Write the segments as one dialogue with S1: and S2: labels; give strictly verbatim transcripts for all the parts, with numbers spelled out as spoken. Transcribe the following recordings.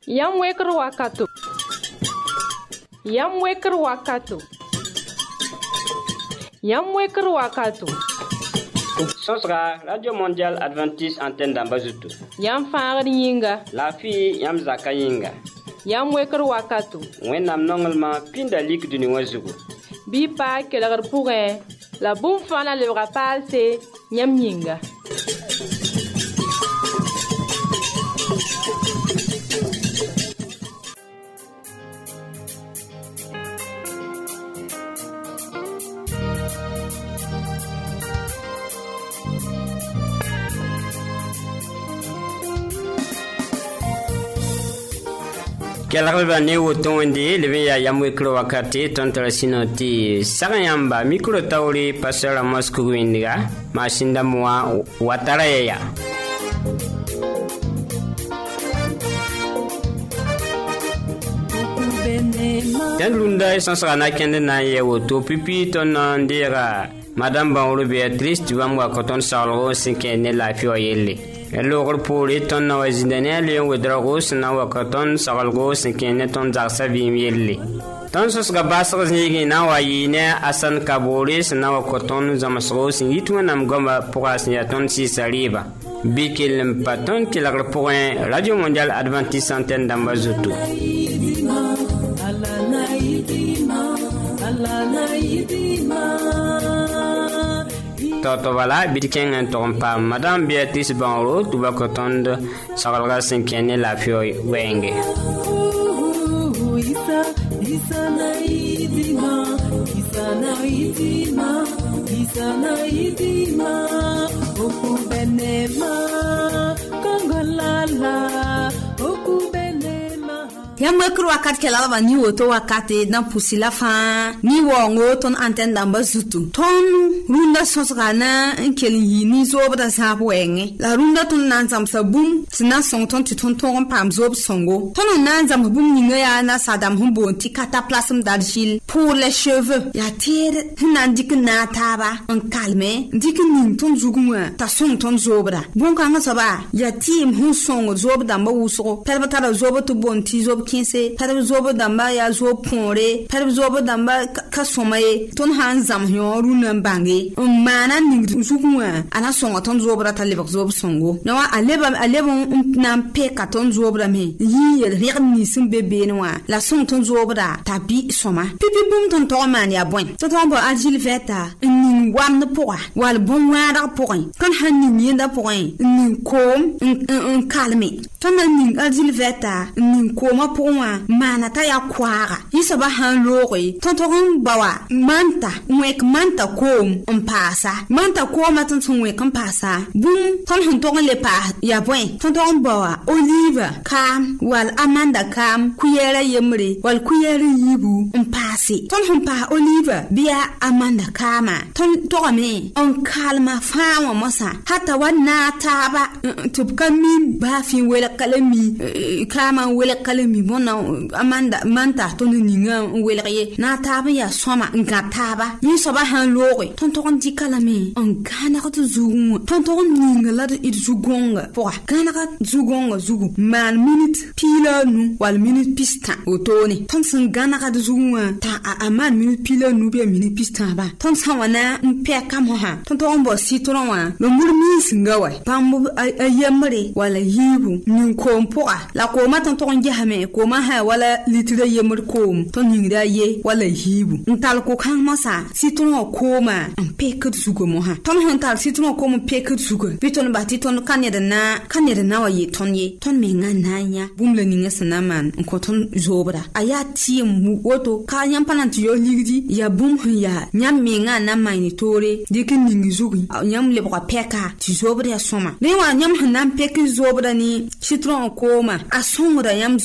S1: Yam weker wakato. Yam weker wakato. Yam weker wakato.
S2: Sosra, Radio Mondiale Adventiste Antenne d'Ambazutu.
S1: Yam fangri yinga.
S2: La fille Yam Zaka yinga.
S1: Yam weker wakato.
S2: Wennam nongelma pinda lik du niwazugu.
S1: Bi pa kelagar pourrin. La boum fana le rapal c'est Yam yinga.
S2: Kelakba ne woton ndi lebe ya yamwe kro wakati tontra sinoti sagayamba mikro tawri pasara mosku windiga mashinda mwa watara ya Tendunda sansana kende na ye woto pipi ton ndira madame Banro Beatrice tu vas moi quand on salro sinkene la fioyele Logor puri ton na wazindane liyon wedragos na wakaton sagalgos kene ton zaksa vimyeli. Ton sos gabasas nigi na wayine asan kaboris na wakaton zamasgos yitu nam gomba puras ya ton si saliba. Bikil paton kilagra point Radio Mondiale Adventiste Antenne d'Ambazutu. Toto wala bidken en tompa Madame Beatrice Banro tu va kotonde sagalga sinkene la fio wenge isa isa na idima isa na idima isa na idima oku benema kongolala oku Yamwe kru wakati kela ba ni woto wakati na pusila fa ni wongo ton antenne damba zutu ton runda sosgana nkeli ni zobda sabu wenge la runda ton nanzam sabum sina song ton ton ton pam zob songo ton nanzam bum ni ya na sadam humbo ti kata plasm darjil pour les cheveux ya tire nandik na taba en calme dik ni ton zuguma ta song ton zobra bon kanga soba ya tim hu songo zobda ma wuso perbata zobo to bon ti zob kinse parab zobo damba ya zo ponre parab zobo damba ka somaye ton han zam yoru nan bange mana ning zukunwa ana songo ton zobra taleba zobo songo nawa aleba aleba nan pe ka ton zobra me yi reg ni sim bebe noa la song ton zobra tabi soma pipi bum ton to man ya bon to ton bo agil veta ni wam na poa wal bon wara poa kan han ni nda poa ni kom un calme ton ni agil veta ni koma poa mana ta ya kwara yisaba han lori tonton bawa manta wek manta kom on pasa manta koma tonton wek on pasa bum ton hun ton le pa ya bwen tonton bawa olive kam wal amanda kam kuyere yemre wal kuyere yibu on pasi ton hun pa olive bia amanda kama ton to me on kalma fawa mosa hata wana taba tubkan mi ba fi wela kalami kama wela kalami bona amanda manta ton ninga weleye na taba ya soma ngataba ni soba han lori ton ton di kalami on kana ko zugu ton ton ninga la it zugonga po kana ka zugonga zugu man minute pila nu wal minute pista otoni ton san gana ka zugu ta a man minute pila nu be minute pista ba ton san wana mpe kam ha ton ton bo citron wa no murmi singawa pambu ayemre wala yibu nin kompo la ko ma ton ton jahame ko ma ha wala litira yemur kom ton hingra ye wala hibu ntal ko kan masa citron ko ma mpe ka zugo mo ha ton hantal citron ko mo pe ka zugo biton ba ti ton kaneda na kaneda na wa ye ton ye ton me ngananya bumle ninga sanaman ko ton zobra aya ti mu woto ka nyam pananti yo ligdi ya bum ya nyam me ngana mai tore dikin ningi zugi nyam le ba peka ti zobra soma le wa nyam hanan peka zobra ni citron ko ma asongra nyam zobra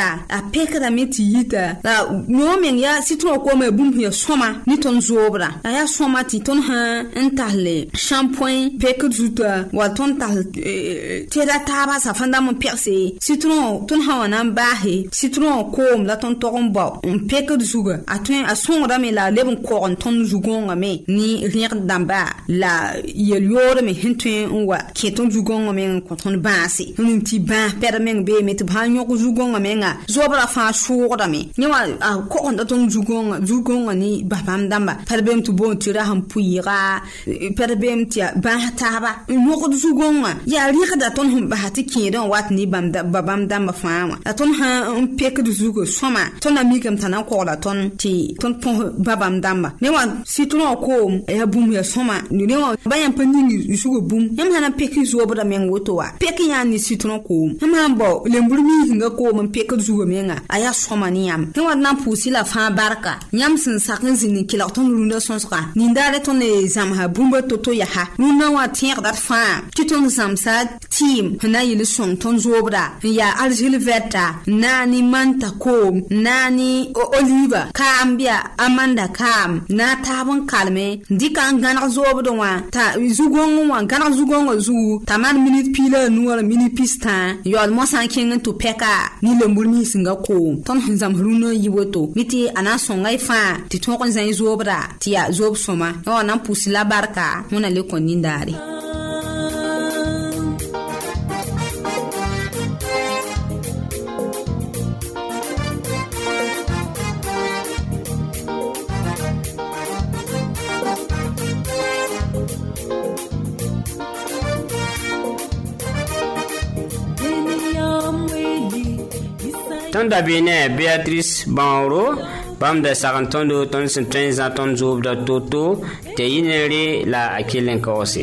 S2: zobra a pekra meti yita la no men ya citron ko me bum ya soma ni ton zobra ya soma ti ton ha entalle shampoing pekra zuta wa ton tal tera taba sa fanda mon perse citron ton ha wana bahe citron ko la ton toron ba on pekra zuga atun a songra me la lebon ko on ton zugonga me ni rien damba la yeliore me hintun wa keton zugonga me ko ton baasi nun ti ba permen be met ba nyoko zugonga me nga zobra fa shura me nyawa ko on ton zugonga zugonga ni babam damba perbem tu bon tira ham puira perbem ti ba taba nyoko zugonga ya rika da ton hum ba ti kidan wat ni bam da babam damba fa wa ton ha un pek du zugo soma ton amikam tanan ko la ton ti ton pon babam damba ne wa citron ko ya bum ya soma ni ne wa bayan panin zugo bum yam hana pek zobra me ngoto wa pek ya ni citron ko yam bo lemburmi hinga ko man pek zugo me nga aya soma ni yam ne wa na pusi la fa barka yam sin sakin zini kila ton runda sonska ni ndare ton e zam ha bumba toto ya ha runa wa tier dat fa ti ton zam sa team na yile son ton zobra ya argile veta nani manta ko nani oliva kambia amanda kam na tabon kalme dika ngana zobdo wa ta zugongo wa ngana zugongo zu taman minute pila nuwa mini pista yol mo san king to peka ni lembulmi singa ko ton hanzam runo yiwoto miti ana songa fa ti ton kon zan zobra ti ya zob soma o nan pusila barka mona le kon nindari
S3: Tonda bine Beatrice Banro bam da sarantondo ton sentenza ton zob da toto te inere la akilen kose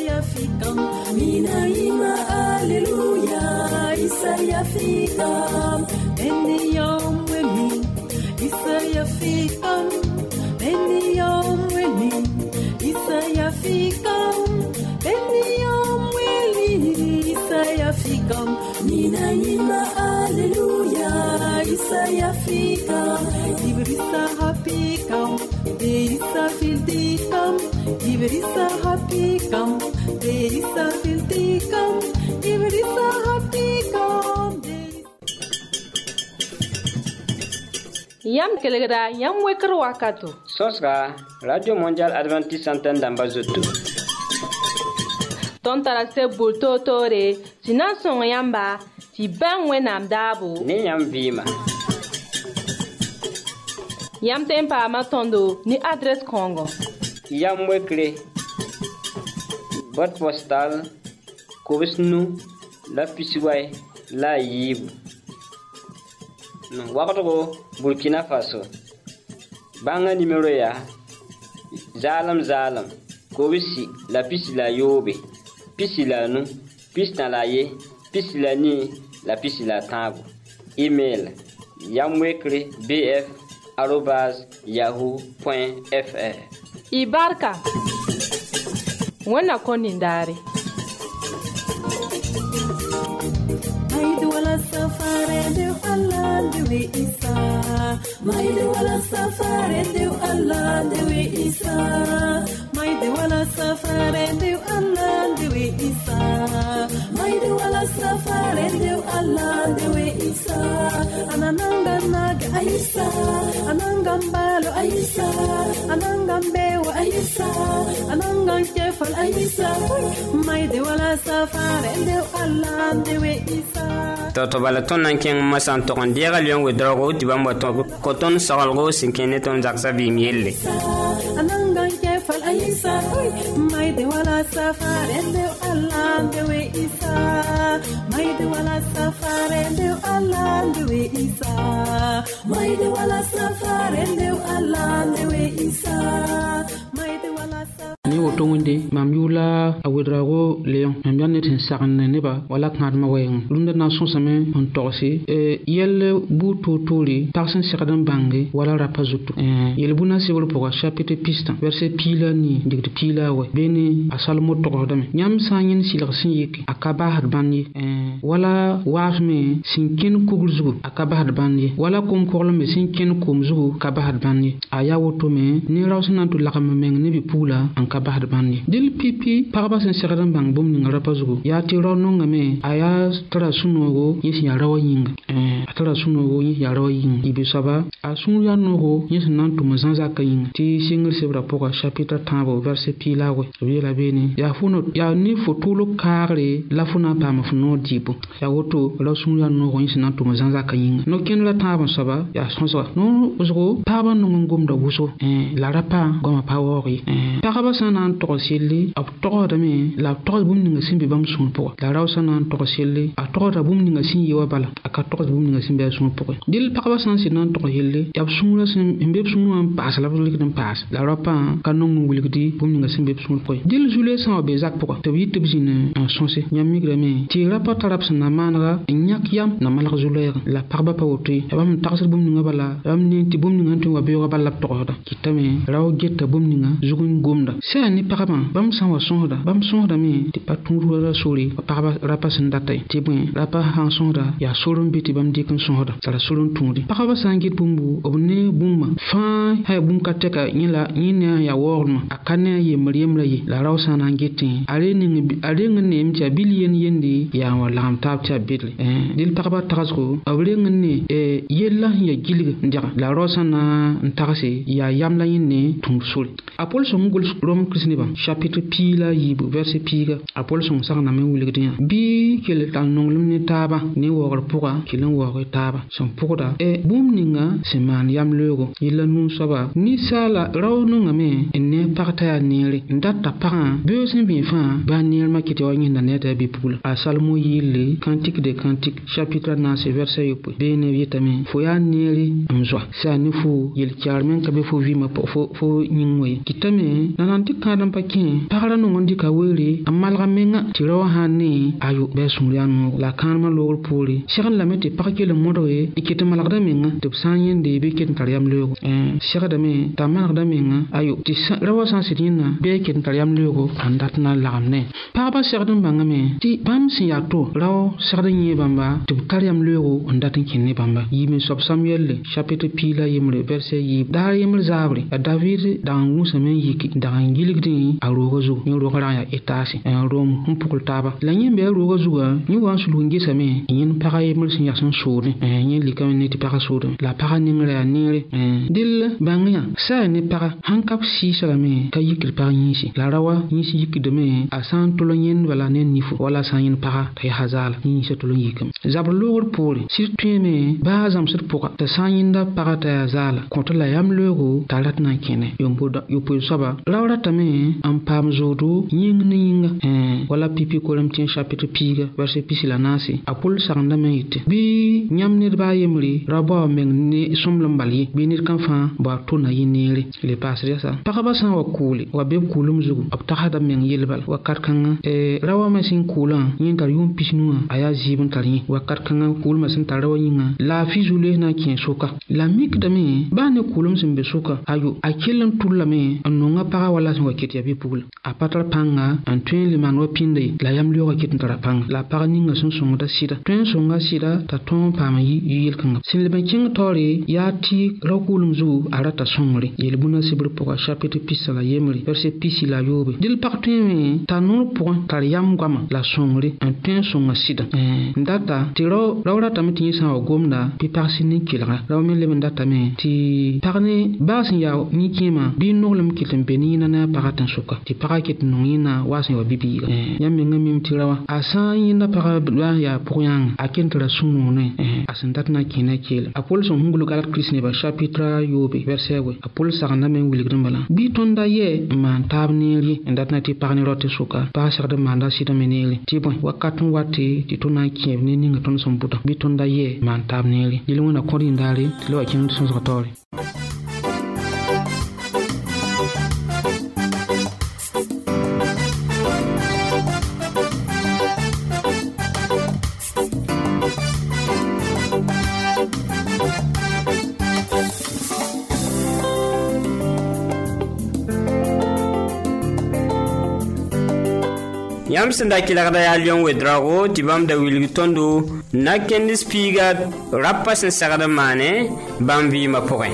S3: mina ima alleluia isaya fikam eniyom weli isaya fikam eniyom weli isaya fikam eniyom weli isaya fikam mina ima alleluia isaya fikam ibrisa hapikam deisa filtikam ibrisa hapikam deisa filtikam ibrisa hapikam
S1: yam kelegra yam wekr wakato
S3: sosga Radio Mondial Adventiste Antenne d'Ambazoto
S1: ton tarase bulto tore sinan son yamba ti ban wenam dabo
S3: ni yam vima
S1: yam tempa matondo ni adresse Congo
S3: yam wekre boîte postale Kobisnu la Pisiway la Yib no wakato Burkina Faso banga numéro ya zalam zalam Kobisi la Pisi la Yobe Pisi la nu Pisi na la ye Pisi la ni la Pisi la Tango email yamwekre bf arobase yahoo point fr
S1: ibarka wana konindare
S4: Maidu wala safare de Allah de we isa Maidu wala safare de Allah de we isa Maidu wala safare de Allah de we isa Maidu wala safare de Allah de we isa Anananga naga aisa Anangam balo aisa Anangam bewa aisa Anangam kefal aisa Maidu wala safare de Allah de we isa
S3: Toto bala ton nan ken masan to kon dira lion we drogo ti bamba to ko ton sagalgo sinkene ton zaksa bi mielle
S4: anangan ke fal aisa mai de wala safare de Allah de we isa mai de wala safare de Allah de we isa mai de wala safare de Allah de we isa mai de wala
S5: ni to wonde mam yula awedrago leon mam yanne tin sagan ne ba wala kan ma wayen lunda na son same on torsi e yel bu to tori parsen siradan bangi wala rapazutu e yel buna sibul pour chapitre pistan verset pila ni digde pila we beni asalmo to dame nyam sanyin silar sin yiki akaba had banyi e wala waafme sinkin kugulzugu akaba had banyi wala kum korlme sinkin kumzugu kaba had banyi aya woto me ni rawsana to lakam meng ni bi pula an kaba had banyi dil pipi paraba sin siradan bang bum ni rapazugu ya ti rono ngame aya tra sunogo yisi ya rawa yinga eh tra sunogo yisi ya rawa yinga ibi saba asun ya nogo yisi nan to mazanza kayin ti single sebra poka chapitre tabo verset pila we wi la beni ya funo ya ni fotulo kare la funa pa ma funo dibo ya woto la sun ya nogo yisi nan to mazanza kayin no ken la tabo saba ya sonso no uzgo taba no ngum da wuso eh la rapa goma pawori eh paraba sanan to sili ab to da me la to bum ni ngasimbe bam sun poka la raw sanan to sili a to da bum ni ngasin yewa bala aka to bum ni ngasimbe sun poka dil paraba san sinan to hille ya sun la sin imbe sun am pas la bulik dan pas la rapa kanon ngulgdi bum ni ngasimbe sun poka dil jule san be zak poka to yit bizine en sonse nyam migrame ti rapa tarap sana manra nyak yam na malak jule la parba pa woti bam taxir bum ni ngabala bam ni ti bum ni ngantu wa be wa bala to da kitame raw getta bum ni nga zugun gomda sa ni paraba bam san wa sonda bam sonda me ti paturu ra sori paraba rapa san datay ti bun rapa han sonda ya sorum biti bam dikin sonda sara sorum tundi paraba sangit bumbu obne bumma fa hay bum kateka nyila nyina ya worma akane ye mriyem la ye la raw sana ngeti are ni are ngene mtia billion yendi ya wala am tab tia bidle eh dil paraba tagasco awre ngene e yella ya gilga ndira la raw sana ntagase ya yamla yinne tung sori apol so ngul rom krisni ba chapitre pila yibu verset piga apol so sagna me wuligdiya bi kel tan nonglum ni taba ni wogor puga kilan wogor taba son puga e bum ninga seman yam logo yilla nun soba ni sala raw no ngame enne parta ya nere ndata para beosin bi fa ba nir makiti wa nyinda neta bi pula a salmo yille cantique de cantique chapitre na ce verset yopo bene vitame fo ya nere amzwa sa ni fu yil charmen ka be fo vi ma fo fo nyingwe kitame nananti kadam pakin para no ngondi ka wele amalga menga tirawa hanne ayu be sumrianu la kanma logol poli shagan la mete pakke le modore ikete malagda menga te sanyen de be ket tariyam logo eh shagada me ta malagda menga ayu ti rawa san sidina be ket tariyam logo andatna lagamne papa shagdan bangame ti pam siya to raw shagdan ye bamba te tariyam logo andatin kinne bamba yimi sob samuel chapitre pila yimre verset yi dar yimre zabri david dan musa men yiki dan giligdi a rogo zu ni rogo ya etasi en rom hum pukul taba la nyembe rogo zuga ni wan sulu ngisa me yin para yimre sin yasan suri en yin likam ne ti para suri la para ni ngre nire dil bangya sa ni para hankap si salame ka yikil para nyisi la rawa nyisi yiki de me asan tolo nyen wala nen nifu wala san yin para tay hazala ni se tolo yikam zabr logor pori sirtu me bazam sir puka ta san yin da para tay hazala konta la yam logo talat na kene yombo da yopo soba lawra tame am pam zodo nying ni yinga eh wala pipi ko lam tin chapitre piga verset pisila nasi apol sangda me yite bi nyam ne ba yemri rabo men ni somlam bali bi nit kan fa ba to na yinere le pasre sa pakaba san wa kuli wa be kulum zugu ab tahada men yelbal wa karkan e rawa ma sin kulan yin tar yum pisnu aya jibun tari wa karkan kul ma sin tarawa yinga la fi zule na kin soka la mik da me ba ne kulum sin be soka ayu akilan tulame annonga para wala sin wa kiti bi pul a patar panga an tuen liman wa pinde la yam liyo wa kiti tara panga la para ninga sun songa sida tuen songa sida ta ton pama yi yil kanga sin le ben king tori ya ti rakulum zu arata songri yel buna sibur poka chapitre pisala yemri verset pisila yobe dil partime ta non point tar yam gama la songri an tuen songa sida eh ndata tiro rawra tamiti sa wa gomda pi parsini kilra rawmen le ndata me ti parne basin ya ni kima bi nolum kitem benina na paratan suka ti paraket nongina wasin wa bibi yam me ngam tirawa asa yinda para ba ya poyang akentra sunu ne asentat na kina kel apol son hungulu galat krisne ba chapitre yobe verset we apol sagna men wuligrim bala bi tonda ye man tabniri ndatna ti parni rote suka pa sagda manda sita meneli ti bon wakatun wati ti tona kiev ni ninga ton son buta bi tonda ye man tabniri dilungona kori ndari lo akin son zotori
S3: Yam senda kilagda ya lion wedrago tibam da wilgi tondo na kendis piga rappa sen sagada mane bam vi ma poin.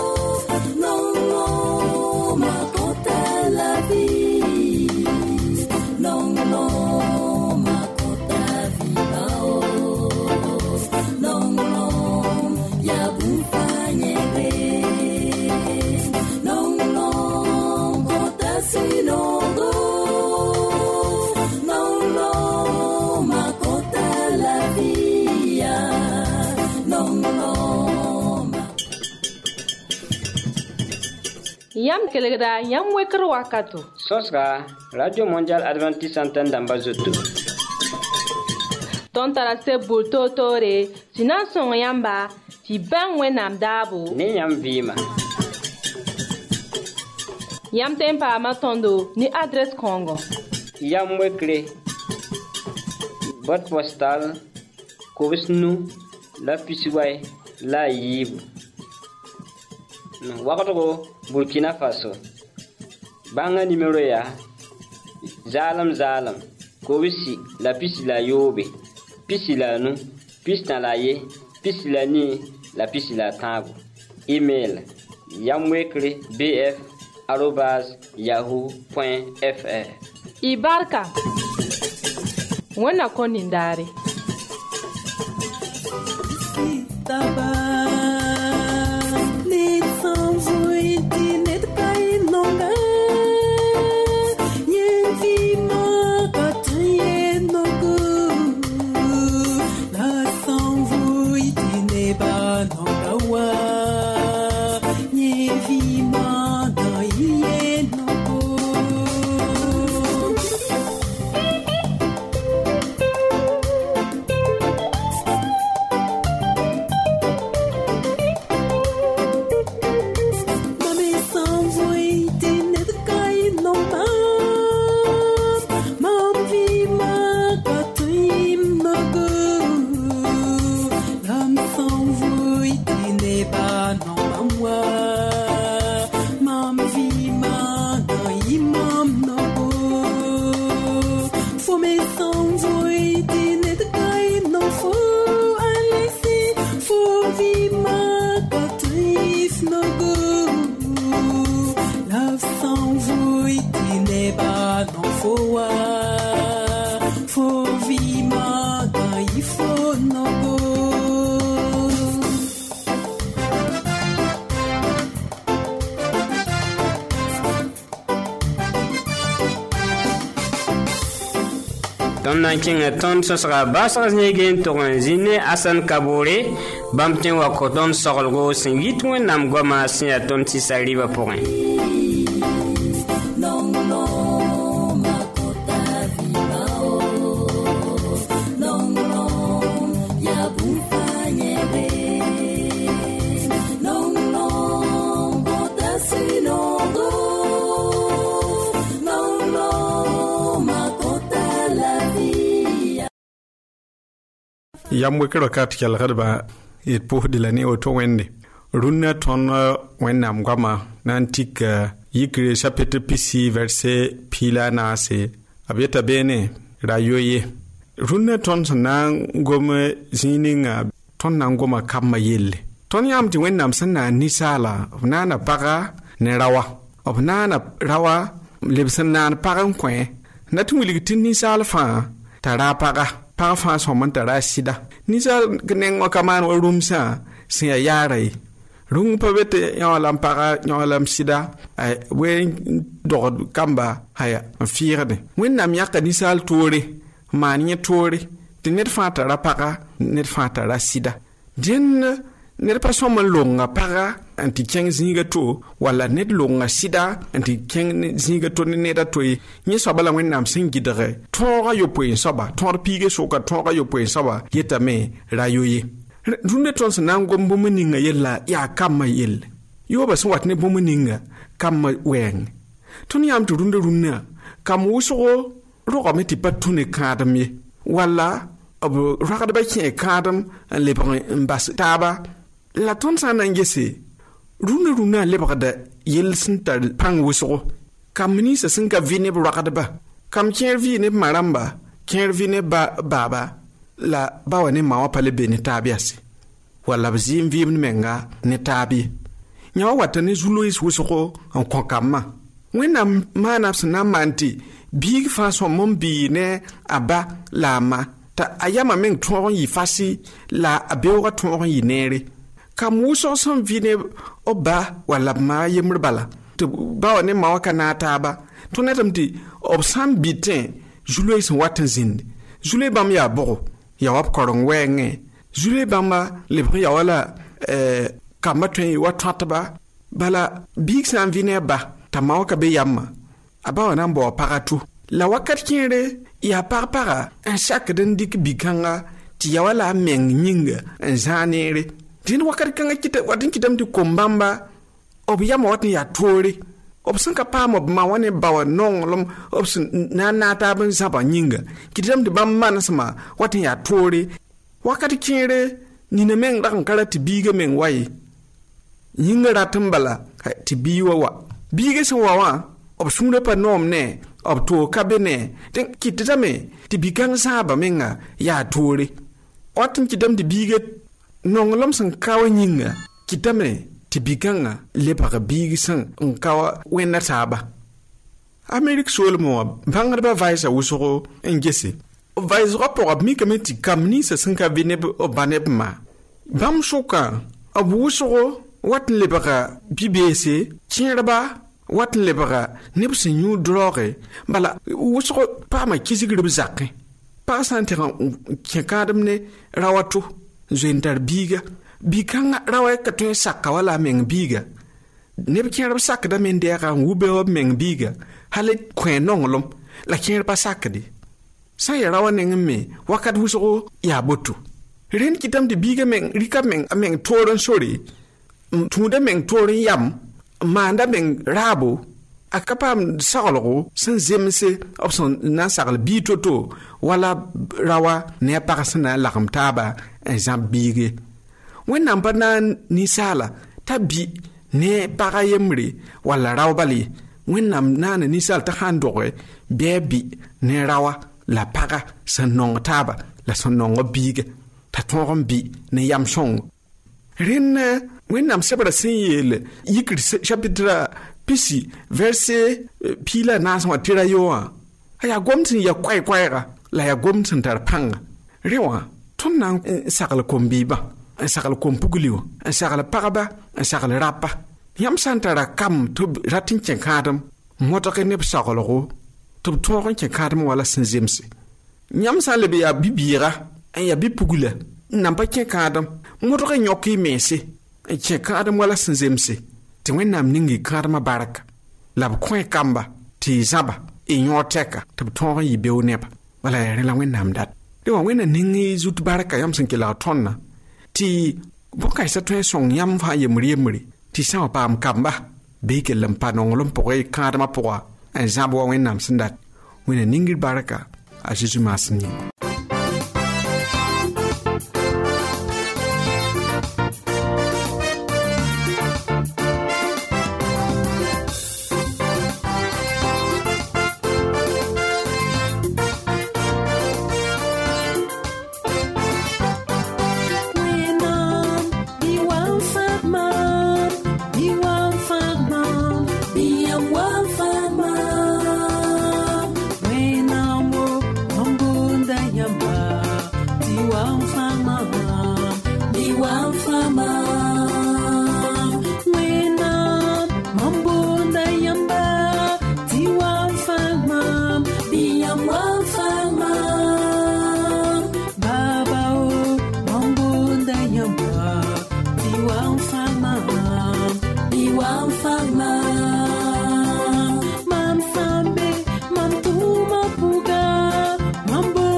S1: Yam kelegda yam weker wakato.
S3: Sosra Radio Mondial Adventiste Antenne d'Ambazoto.
S1: Ton tarase bulto tore sinan son yamba ti bang wenam dabo.
S3: Ne yam vima.
S1: Yam tempa matondo ni adresse Congo.
S3: Yam wekre. Boîte postale Kobisnu la Pisiway la Yib. Wakato Burkina Faso. Banga numéro ya Zalam Zalam Kobisi la pisi la Yobe Pisi la nu Pisi na la ye Pisi la ni la pisi la tabu. Email yamwekre bf arobase yahoo point fr.
S1: Ibarka Wana konindari
S3: Ton nanking ton sosra basras nyegen ton zine asan kabore bamten wa koton sorgo singit wen nam goma sin ton tisariba point.
S6: Yamwe kero kat kel garba et pour de l'année auto wende runna ton wennam gama nantik yikre chapitre pc verset pila na se abeta bene rayoye runna ton nan gome zininga ton nan goma kamma yelle ton yamti wennam sanna nisala nana paga ne rawa obnana rawa lebsan nan pagan kwen natu wiligitin nisala fa tara paga pa fa so man tara sida ni sa gneng o kaman o rumsa se yare rung pa bete ya lam para ya lam sida ay we do kamba haya fiirde wen nam yakka ni sal tore mani tore de net fa tara para net fa tara sida den net pa so man longa para anti keng zinga to wala net longa sida anti keng zinga to ne da toy ni so bala wen nam sin gidere tora yo poin soba tor pige so ka tora yo poin soba yeta me rayoye runde tons nan gombo muninga yella ya kama yel yo ba so watne bo muninga kama wen tuni am to runde runna kam wuso ro ko meti patune kadam ye wala abu rakada ba ki kadam le mbas taba la ton sa nangese runa runa lebada yel sinta pang wuso kamni sa sinka vine rakada ba kam kẽer vɩɩ ne marãmba kẽer vɩ ne ba baaba la ba wa ne ma wa pa le be ne taab yase wala b zɩɩm vɩɩmd menga ne taab ye yã wa wata ne zu-loees wʋsgo n kõ kamma wẽnnaam maana b sẽn na n maan tɩ biig fãa sõm n bii ne a ba la a ma t'a a yama meng tõog n yɩ fasɩ la a beoogã tõog n yɩ neere kam wʋsg sẽn vɩ ne b ba wala b ma yembr bala tɩ ba wa ne ma wa ka na a taaba tɩ netame tɩ b sã n bɩtẽ zu-loe sẽn wat n zĩnd zu-loe bãmb yaa bʋgo ya wa b koreng wɛɛngẽ zu-loe bãmba lebg ya wala eh, kamba tõe wa tõtba bala biig sã n vɩ ne a ba t'a ma wa ka be yamma a ba wa na n bao paga to la wakat kẽere yaa pag-paga n sakd n dɩk bi-kãnga tɩ ya wala a meng yĩnga n zãag neere dẽnd wakat kãngã wat n kɩtame tɩ kom bãmba b yama wat n yaa toore b sẽn ka paam b ma wa ne ba wa nonglem b sẽn na n naag taab n zãba yĩnga kɩtame tɩ bãmb manesmã wat n yaa toore wakat kẽere nina meng rag n ka ra tɩ biigã meng wa ye yĩnga rat n bala tɩ bii wa wa biigã sẽn wa wã b sũurã pa noom ne b toog ka be ne tɩ kɩtdame tɩ bi-kãng zãaba menga yaa toore wat n kɩtame tɩ biigã nonglem sẽn ka wa yĩnga kɩtame tɩ bi-kãngã lebg biig sẽn n ka wa wẽnna taaba amerik soolmẽ wã bãngdbã vaɩsa wʋsgo n gese vaɩsgã pʋga b mikame tɩ kam ninsã sẽn ka be ne b ba ne b ma bãmb sʋkã b wʋsgo wat n lebga bi-beese kẽerba wat n lebga neb sẽn yũ drɔɔge bala wʋsgo paama kisgr b zakẽ pag sã n tɩg n kẽ kãadem ne rawa to zoen tar biiga bi-kãngã rawa ka tõe n saka wala a meng biiga neb kẽerb sakdame n dɛɛga n wu-beoog b meng biiga hal kõ nonglem la kẽer pa sakde sã n ya rawa neng n me wakat wʋsgo yaa boto rẽnd kɩtame tɩ biigã meng rɩka meng a meng toor n sore n tũuda meng toor n yam n maanda meng raabo a ka paam saglgo sẽn zemse b sẽn na n sagl bii to-to wala rawa ne a pag sẽn na n lagem taaba n zãb biige wẽnnaam pa na n ninsaala t'a bi ne paga yembre wala rao bale wẽnnaam naana ninsaal t'a sã n doge bɩ a bi ne rawa la paga sẽn nong taaba la sẽn nong b biiga t'a tõog n bi ne yam sõngo rẽnd wẽnnaam sebrã sẽn yeel yikr chapitra pisi verse piila naasẽ wã tɩra yoowã a yaa gomd sẽn ya koɛɛ-koɛɛga la yaa gomd sẽn tar pãnga rẽ wã tõnd na n sagl kom-biibã n sagl kom-pugli wã n sagl pagba n sagl rapa yãmb sã n tara kam tɩ b rat n kẽ kãadem modg ne b saglgo tɩ b tõog n kẽ kãadem wala sẽn zemse yãmb sã n leb yaa bi-biiga n yaa bi-pugla n nan pa kẽ kãadem modg n yõk y meese n kẽ kãadem wala sẽn zemse tɩ wẽnnaam ning y kãadmã barka la b kõ kamba tɩ y zãba y yõ tɛka tɩ b tõog n yɩ beo neba wala yaa rẽ la wẽnnaam dat rẽ wã wẽnna ning y zut barka yãmb sẽn kelg tõndna tɩ bõn-kãensã tõe n sõng yãmb fãa yembr-yembre tɩ sã n wa paam kamba bɩ y kell n pa nonglem pʋgẽ y kãadmã pʋga n zãb wa wẽnnaam sẽn dat wẽnna ningr barka a zeezi maasem yĩnga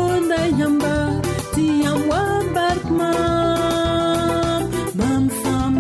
S4: Mam fam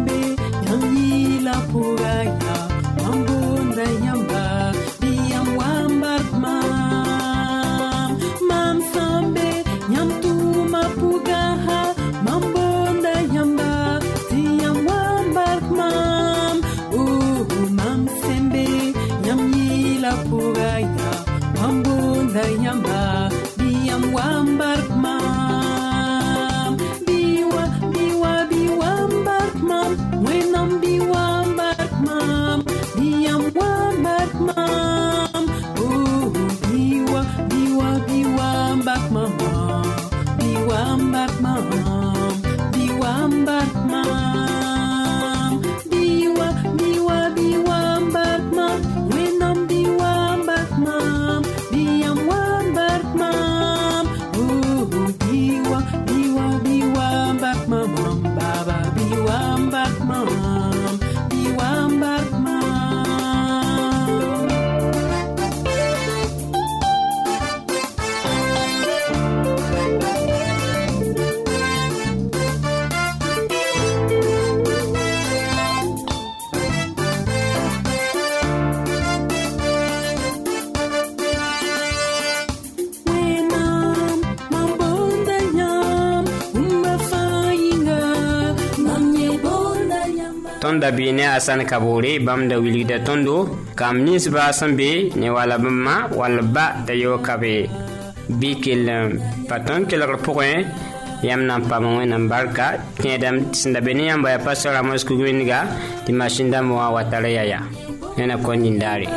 S3: Tonda bine asan kabore bam da wilida tondo kam nis ba sambe ne wala bama wala ba da yo kabe bikel paton ke la point yam nan pa mo nan barka tedam tinda bene yam ba pastor amos ku gwiniga di mashinda mo watare yaya nena ko ndindari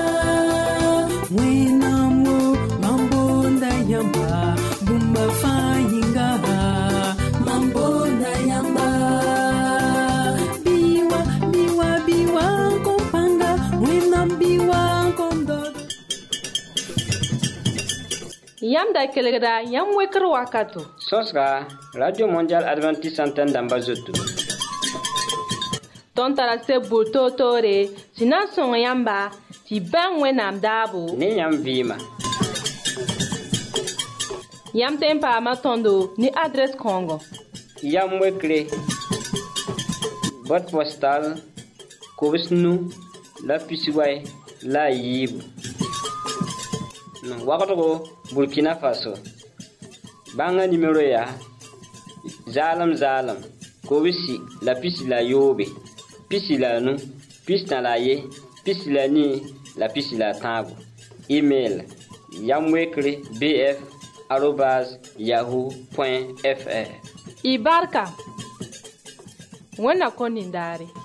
S4: wenamo mambonda yamba bumba fayinga mambonda yamba
S1: Yam da kelgda yam wekr wakato.
S3: Sosra Radio Mondial Adventiste Antenne d'Ambazoto.
S1: Ton tara se boto tore, sinan son yamba, ti ban wenam dabo.
S3: Ni yam vima.
S1: Yam tempa matondo ni adresse Congo.
S3: Yam wekre. Boîte postale Kobisnu la Pisiway la Yib. No wakato Burkina Faso. Banga numéro ya Zalam Zalam Kobisi la pisi la yobe pisi la nu pisi na la ye pisi la ni la pisi la tango. Email yamwekre bf arobase yahoo point fr.
S1: Ibarka wana konindari.